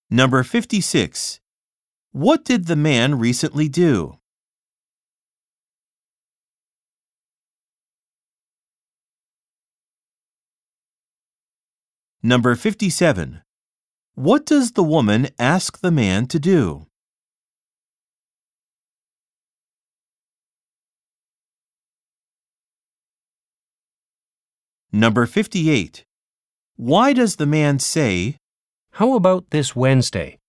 Number 56. What did the man recently do? Number 57. What does the woman ask the man to do? Number 58. Why does the man say, How about this Wednesday?